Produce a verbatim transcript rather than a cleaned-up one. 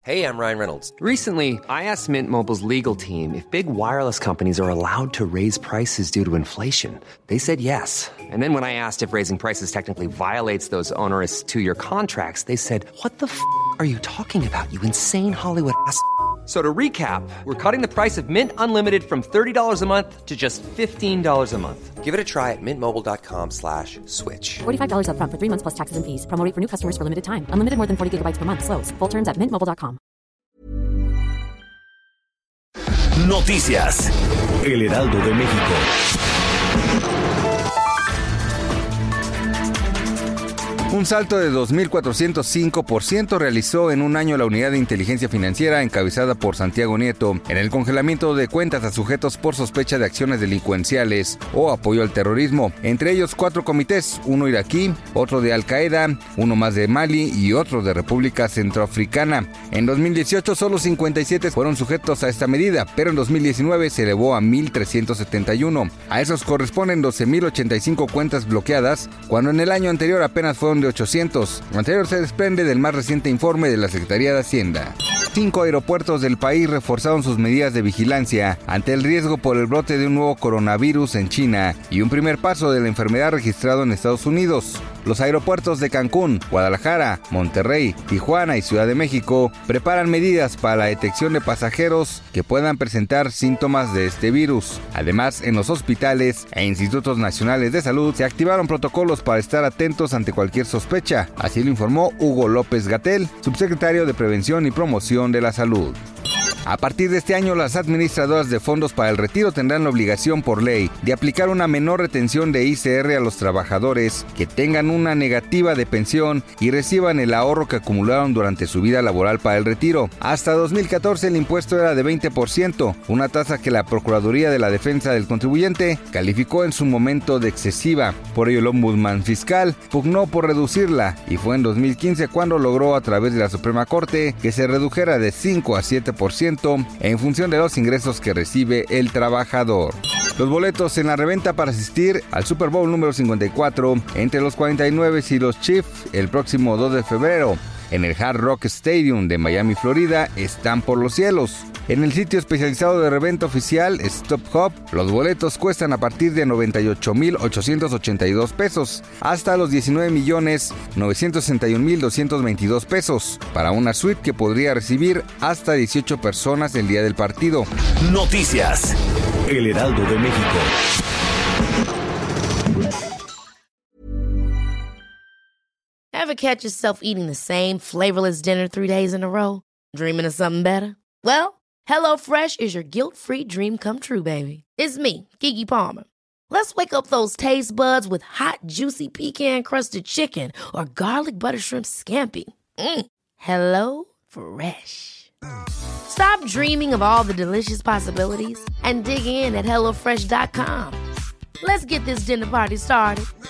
Hey, I'm Ryan Reynolds. Recently, I asked Mint Mobile's legal team if big wireless companies are allowed to raise prices due to inflation. They said yes. And then when I asked if raising prices technically violates those onerous two-year contracts, they said, what the f*** are you talking about, you insane Hollywood ass f- So to recap, we're cutting the price of Mint Unlimited from thirty dollars a month to just fifteen dollars a month. Give it a try at mintmobile.com slash switch. forty-five dollars up front for three months plus taxes and fees. Promo rate for new customers for limited time. Unlimited more than forty gigabytes per month. Slows full terms at mint mobile dot com. Noticias. El Heraldo de México. Un salto de dos mil cuatrocientos cinco por ciento realizó en un año la Unidad de Inteligencia Financiera encabezada por Santiago Nieto en el congelamiento de cuentas a sujetos por sospecha de acciones delincuenciales o apoyo al terrorismo. Entre ellos cuatro comités, uno iraquí, otro de Al Qaeda, uno más de Mali y otro de República Centroafricana. En dos mil dieciocho solo cincuenta y siete fueron sujetos a esta medida, pero en dos mil diecinueve se elevó a mil trescientos setenta y uno. A esos corresponden doce mil ochenta y cinco cuentas bloqueadas, cuando en el año anterior apenas fueron de ochocientos. Lo anterior se desprende del más reciente informe de la Secretaría de Hacienda. Cinco aeropuertos del país reforzaron sus medidas de vigilancia ante el riesgo por el brote de un nuevo coronavirus en China y un primer paso de la enfermedad registrado en Estados Unidos. Los aeropuertos de Cancún, Guadalajara, Monterrey, Tijuana y Ciudad de México preparan medidas para la detección de pasajeros que puedan presentar síntomas de este virus. Además, en los hospitales e institutos nacionales de salud se activaron protocolos para estar atentos ante cualquier sospecha. Así lo informó Hugo López-Gatell, subsecretario de Prevención y Promoción de la Salud. A partir de este año, las administradoras de fondos para el retiro tendrán la obligación por ley de aplicar una menor retención de I C R a los trabajadores que tengan una negativa de pensión y reciban el ahorro que acumularon durante su vida laboral para el retiro. Hasta dos mil catorce el impuesto era de veinte por ciento, una tasa que la Procuraduría de la Defensa del Contribuyente calificó en su momento de excesiva. Por ello, el Ombudsman Fiscal pugnó por reducirla y fue en dos mil quince cuando logró a través de la Suprema Corte que se redujera de cinco a siete por ciento en función de los ingresos que recibe el trabajador. Los boletos en la reventa para asistir al Super Bowl número cincuenta y cuatro entre los cuarenta y nueve y los Chiefs el próximo dos de febrero en el Hard Rock Stadium de Miami, Florida, están por los cielos. En el sitio especializado de reventa oficial Stop Hub, los boletos cuestan a partir de noventa y ocho mil ochocientos ochenta y dos pesos hasta los diecinueve millones novecientos sesenta y un mil doscientos veintidós pesos para una suite que podría recibir hasta dieciocho personas el día del partido. Noticias. El Heraldo de México. Ever catch yourself eating the same flavorless dinner three days in a row? Dreaming of something better? Well, HelloFresh is your guilt-free dream come true, baby. It's me, Keke Palmer. Let's wake up those taste buds with hot, juicy pecan-crusted chicken or garlic butter shrimp scampi. Mm. Hello Fresh. Stop dreaming of all the delicious possibilities and dig in at hello fresh dot com. Let's get this dinner party started.